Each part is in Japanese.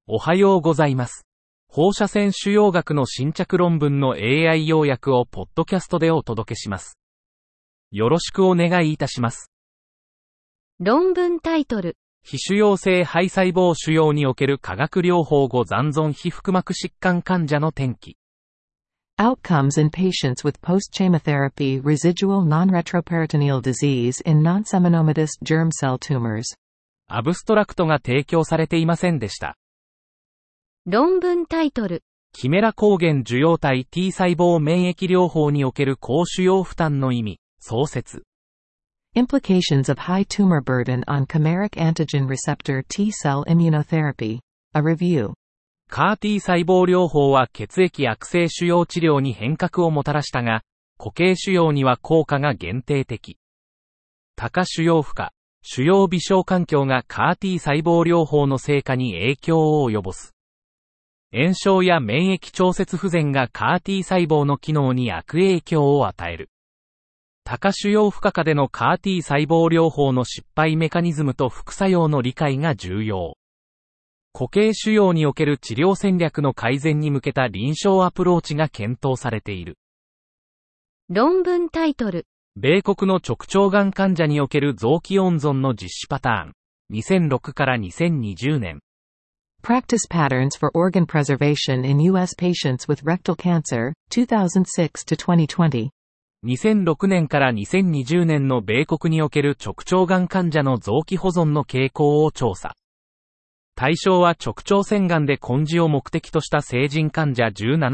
おはようございます。放射線腫瘍学の新着論文の AI 要約をポッドキャストでお届けします。よろしくお願いいたします。 論文タイトル。 非腫瘍性肺細胞腫瘍における化学療法後残存皮腹膜疾患患者の転機。 Outcomes in patients with post-chemotherapy residual non-retroperitoneal disease in non-seminomatous germ cell tumors。 アブストラクトが提供されていませんでした。 論文タイトル。 キメラ抗原受容体 T 細胞免疫療法における高腫瘍負担の意味、創設。 Implications of high tumor burden on chimeric antigen receptor T cell immunotherapy. A review. CAR-T 細胞療法は血液悪性腫瘍治療に変革をもたらしたが、固形腫瘍には効果が限定的。多腫瘍負荷、腫瘍微小環境が CAR-T 細胞療法の成果に影響を及ぼす。炎症や免疫調節不全が CAR-T 細胞の機能に悪影響を与える。多腫瘍負荷下での CAR-T 細胞療法の失敗メカニズムと副作用の理解が重要。固形腫瘍における治療戦略の改善に向けた臨床アプローチが検討されている。 論文タイトル。 米国の直腸がん患者における臓器温存の実施パターン。2006から2020年。 Practice patterns for organ preservation in U.S. patients with rectal cancer, 2006 to 2020。 2006年から2020年の米国における直腸がん患者の臓器保存の傾向を調査。対象は直腸腺がんで根治を目的とした成人患者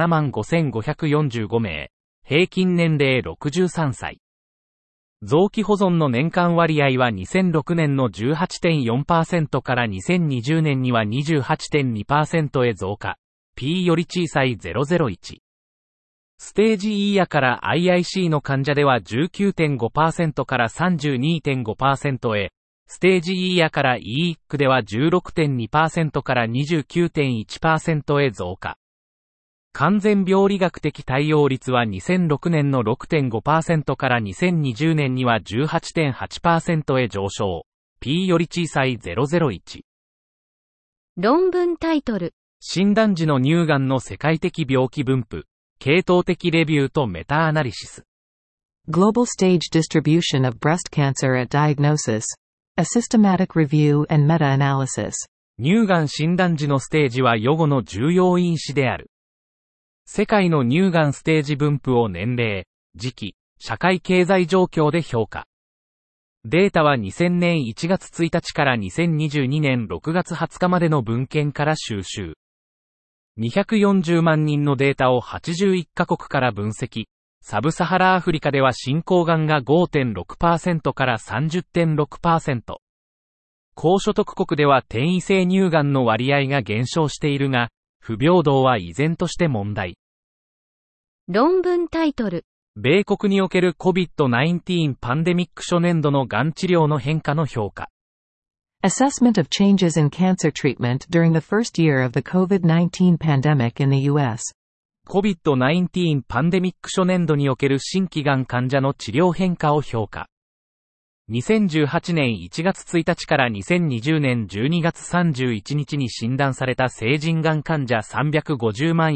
175,545名、平均年齢63歳。臓器保存の年間割合は2006年の 18.4% から2020年には 28.2% へ増加。P より小さい001。ステージ E やから IIC の患者では 19.5% から 32.5% へ、ステージ E やから EIC では 16.2% から 29.1% へ増加。完全病理学的対応率は2006年の 6.5% から2020年には 18.8% へ上昇。P より小さい001。 論文タイトル。 診断時の乳がんの世界的病気分布、系統的レビューとメタアナリシス。 Global stage distribution of breast cancer at diagnosis. A systematic review and meta-analysis。 乳がん診断時のステージは予後の重要因子である。世界の乳がんステージ分布を年齢、時期、社会経済状況で評価。データは2000年1月1日から2022年6月20日までの文献から収集。240万人のデータを81カ国から分析。サブサハラアフリカでは進行がんが 5.6% から 30.6%。高所得国では転移性乳がんの割合が減少しているが、不平等は依然として問題。 論文タイトル。 米国における COVID-19 パンデミック初年度のがん治療の変化の評価。 Assessment of changes in cancer treatment during the first year of the COVID-19 pandemic in the U.S. COVID-19 パンデミック初年度における新規がん患者の治療変化を評価。2018年1月1日から2020年12月31日に診断された成人がん患者350万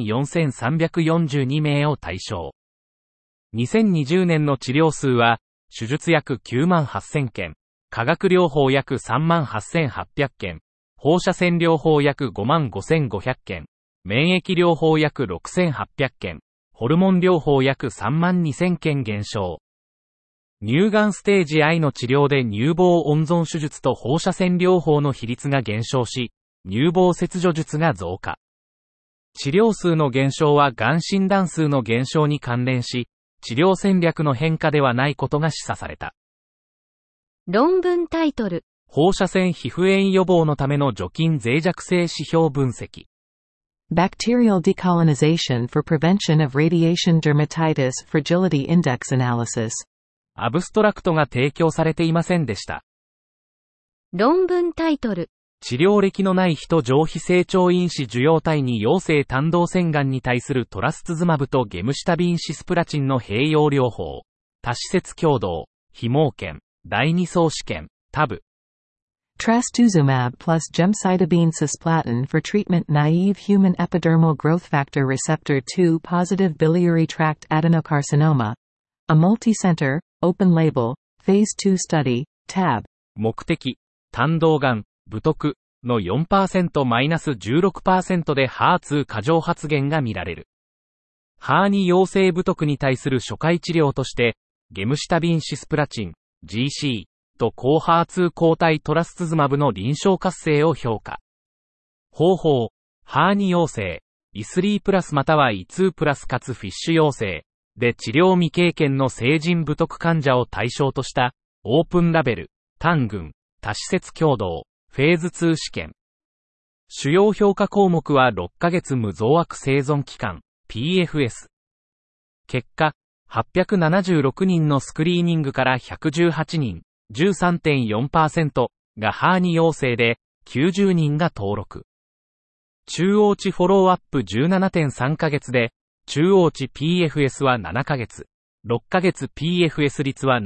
4342名を対象。2020年の治療数は、手術約9万8000件、化学療法約3万8800件、放射線療法約5万5500件、免疫療法約6800件、ホルモン療法約3万2000件減少。乳がんステージ I の治療で乳房温存手術と放射線療法の比率が減少し、乳房切除術が増加。治療数の減少はがん診断数の減少に関連し、治療戦略の変化ではないことが示唆された。 論文タイトル。 放射線皮膚炎予防のための除菌脆弱性指標分析。 Bacterial decolonization for prevention of radiation dermatitis fragility index analysis。 アブストラクトが提供されていませんでした。 論文タイトル。 治療歴のない人上皮成長因子受容体に陽性胆道腺がんに対するトラスツズマブとゲムシタビンシスプラチンの併用療法。多施設共同、非盲検、第二相試験、タブ。 Trastuzumab plus gemcitabine cisplatin for treatment-naive human epidermal growth factor receptor 2 positive biliary tract adenocarcinoma. A multi-center, open-label, phase 2 study, TAB. 目的、胆道がん、武徳の 4%-16% で HER2 過剰発現が見られる。HER2 陽性武徳に対する初回治療として、ゲムシタビンシスプラチン、GC と抗 HER2 抗体トラスツズマブの臨床活性を評価。方法、HER2 陽性、E3 プラスまたは E2 プラスかつフィッシュ陽性で治療未経験の成人武徳患者を対象としたオープンラベル、単群、多施設共同、フェーズ2試験。主要評価項目は6ヶ月無増悪生存期間、PFS。結果、876人のスクリーニングから118人、13.4% がHER2 陽性で、90人が登録。中央値フォローアップ 17.3 ヶ月で、中央値 PFS は7ヶ月、6ヶ月 PFS 率は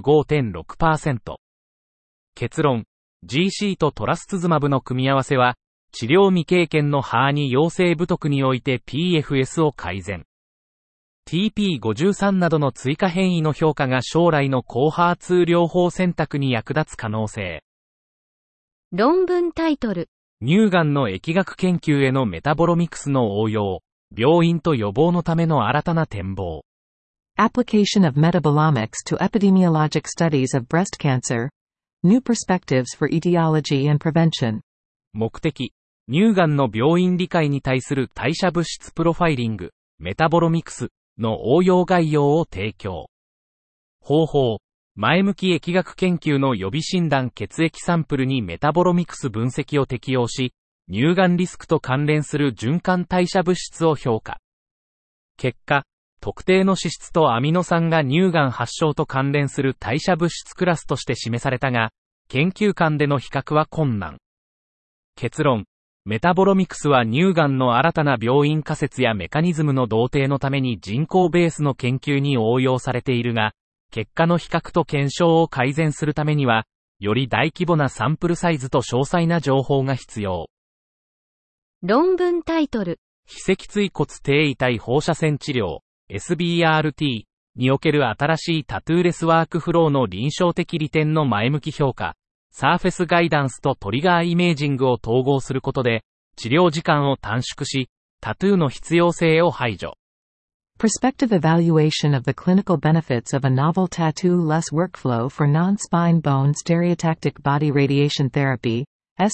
75.6%。結論、GC とトラスツズマブの組み合わせは、治療未経験のHER2陽性武徳において PFS を改善。TP53 などの追加変異の評価が将来の抗HER2療法選択に役立つ可能性。 論文タイトル。 乳がんの疫学研究へのメタボロミクスの応用。病院と予防のための新たな展望。 Application of metabolomics to epidemiologic studies of breast cancer. New perspectives for etiology and prevention. 目的、乳がんの病院理解に対する代謝物質プロファイリング、メタボロミクスの応用概要を提供。方法、前向き疫学研究の予備診断血液サンプルにメタボロミクス分析を適用し、乳がんリスクと関連する循環代謝物質を評価。結果、特定の脂質とアミノ酸が乳がん発症と関連する代謝物質クラスとして示されたが、研究間での比較は困難。結論、メタボロミクスは乳がんの新たな病院仮説やメカニズムの同定のために人口ベースの研究に応用されているが、結果の比較と検証を改善するためには、より大規模なサンプルサイズと詳細な情報が必要。 論文タイトル。 非脊椎骨低位体放射線治療、SBRT における新しいタトゥーレスワークフローの臨床的利点の前向き評価、サーフェスガイダンスとトリガーイメージングを統合することで、治療時間を短縮し、タトゥーの必要性を排除。 Prospective evaluation of the clinical benefits of a novel tattoo-less workflow for non-spine bone stereotactic body radiation therapy,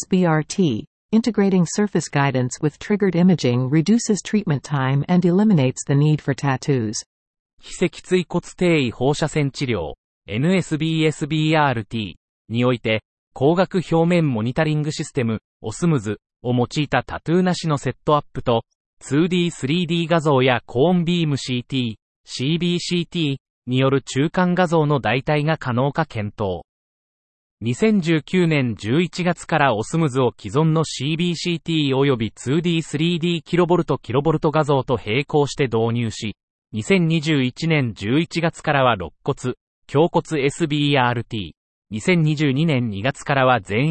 SBRT, integrating surface guidance with triggered imaging reduces treatment time and eliminates the need for tattoos. 非脊椎骨低位放射線治療、NSBSBRT において、光学表面モニタリングシステム、OSMS を用いたタトゥーなしのセットアップと、2D、3D 画像やコーンビーム CT、CBCT による中間画像の代替が可能か検討。2019年11月からOSMSを既存の CBCT 及び 2D、3D キロボルト画像と並行して導入し、2021年11月からは肋骨、胸骨 SBRT、2022年2月からは全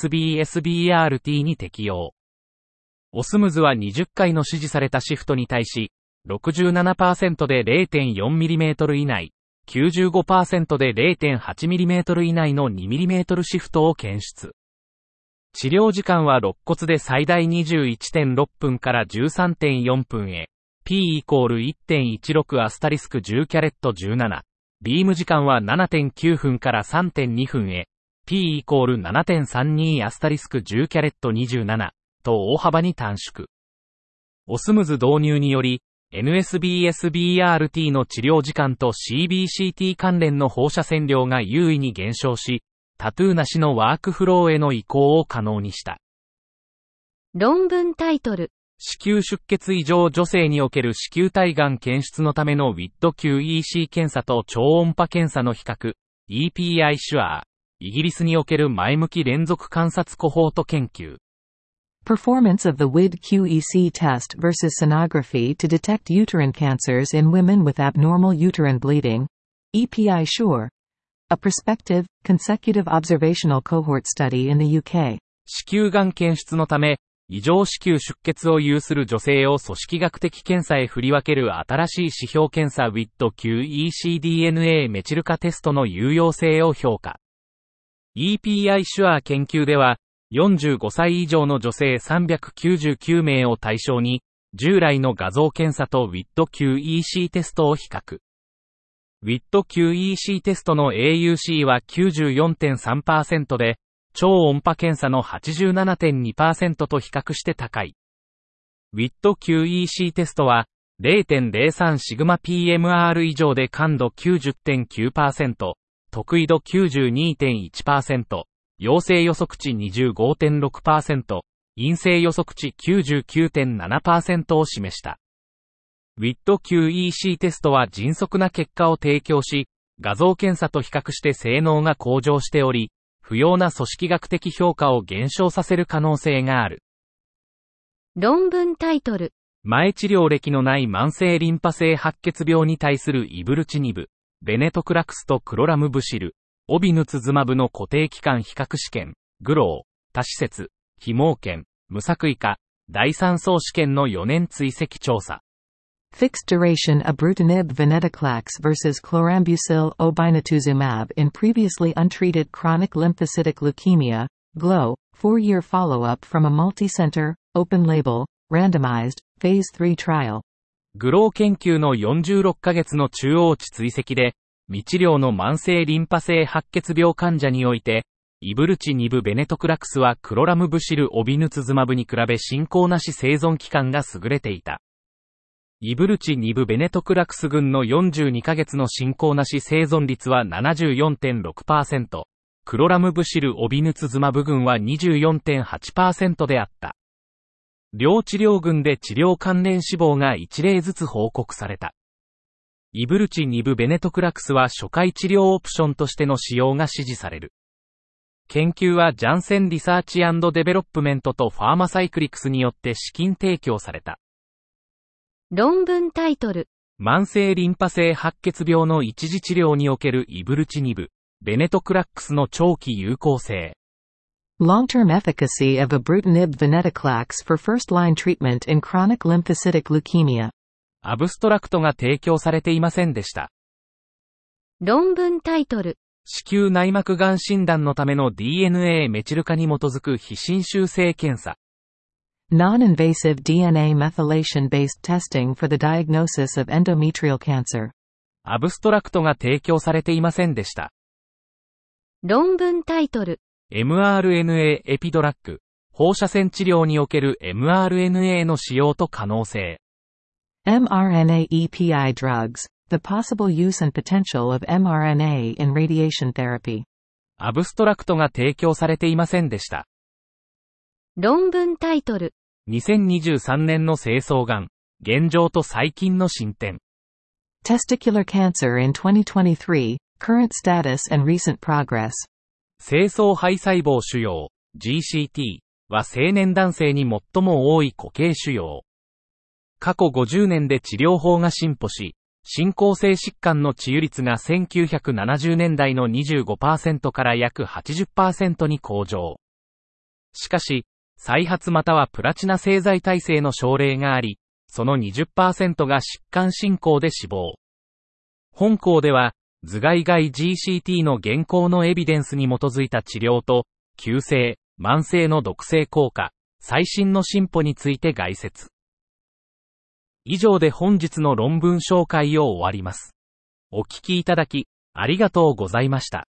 NSBSBRT に適用。OSMSは20回の指示されたシフトに対し、67% で 0.4mm 以内、95% で 0.8mm 以内の 2mm シフトを検出。治療時間は肋骨で最大 21.6 分から 13.4 分へ、P=1.16 アスタリスク10キャレット17。ビーム時間は 7.9 分から 3.2 分へ、P=7.32 アスタリスク10キャレット27と大幅に短縮。OSMS 導入により、NSBSBRT の治療時間と CBCT 関連の放射線量が優位に減少し、タトゥーなしのワークフローへの移行を可能にした。 論文タイトル。 子宮出血異常女性における子宮体がん検出のための WID-QEC 検査と超音波検査の比較、EPI シュアー、イギリスにおける前向き連続観察コホート研究。 Performance of the WID-QEC test versus sonography to detect uterine cancers in women with abnormal uterine bleeding. EPI SURE. A prospective, consecutive observational cohort study in the UK. 子宮がん検出のため、異常子宮出血を有する女性を組織学的検査へ振り分ける新しい指標検査 WIT-QECDNA メチル化テストの有用性を評価。EPI シュアー研究では、45歳以上の女性399名を対象に、従来の画像検査と WIT-QEC テストを比較。WIT-QEC テストの AUC は 94.3% で、超音波検査の 87.2% と比較して高い。WIT-QEC テストは 0.03 シグマ PMR 以上で感度 90.9%、特異度 92.1%、陽性予測値 25.6%、陰性予測値 99.7% を示した。WIT-QEC テストは迅速な結果を提供し、画像検査と比較して性能が向上しており、不要な組織学的評価を減少させる可能性がある。 論文タイトル。 前治療歴のない慢性リンパ性白血病に対するイブルチニブ、ベネトクラクスとクロラムブシル、オビヌツズマブの固定期間比較試験、グロー、多施設、非盲検、無作為化、第3相試験の4年追跡調査。 Fixed duration ibrutinib venetoclax versus chlorambucil obinutuzumab in previously untreated chronic lymphocytic leukemia, GLOW, 4-year follow-up from a multi-center, open-label, randomized, phase 3 trial. グロー研究の46ヶ月の中央値追跡で、未治療の慢性リンパ性白血病患者において、イブルチニブベネトクラクスはクロラムブシルオビヌツズマブに比べ進行なし生存期間が優れていた。イブルチニブベネトクラクス群の42ヶ月の進行なし生存率は 74.6%、クロラムブシルオビヌツズマブ群は 24.8% であった。両治療群で治療関連死亡が1例ずつ報告された。イブルチニブベネトクラクスは初回治療オプションとしての使用が支持される。研究はジャンセンリサーチ&デベロップメントとファーマサイクリクスによって資金提供された。 論文タイトル。 慢性リンパ性白血病の一時治療におけるイブルチニブ、ベネトクラックスの長期有効性。 Long-term efficacy of ibrutinib venetoclax for first-line treatment in chronic lymphocytic leukemia. アブストラクトが提供されていませんでした。 論文タイトル。 子宮内膜がん診断のための DNA メチル化に基づく非侵襲性検査。 Non-invasive DNA methylation-based testing for the diagnosis of endometrial cancer. アブストラクトが提供されていませんでした。 論文タイトル。 mRNA エピドラッグ、放射線治療における mRNA の使用と可能性。 mRNA EPI drugs, the possible use and potential of mRNA in radiation therapy. アブストラクトが提供されていませんでした。 論文タイトル。 2023年の精巣がん、現状と最近の進展。 Testicular cancer in 2023, current status and recent progress. 精巣胚細胞腫瘍、GCT は成年男性に最も多い固形腫瘍。過去50年で治療法が進歩し、進行性疾患の治癒率が1970年代の 25% から約 80% に向上。しかし、再発またはプラチナ製剤耐性の症例があり、その 20% が疾患進行で死亡。本項では、頭蓋外 GCT の現行のエビデンスに基づいた治療と、急性、慢性の毒性効果、最新の進歩について概説。以上で本日の論文紹介を終わります。お聞きいただき、ありがとうございました。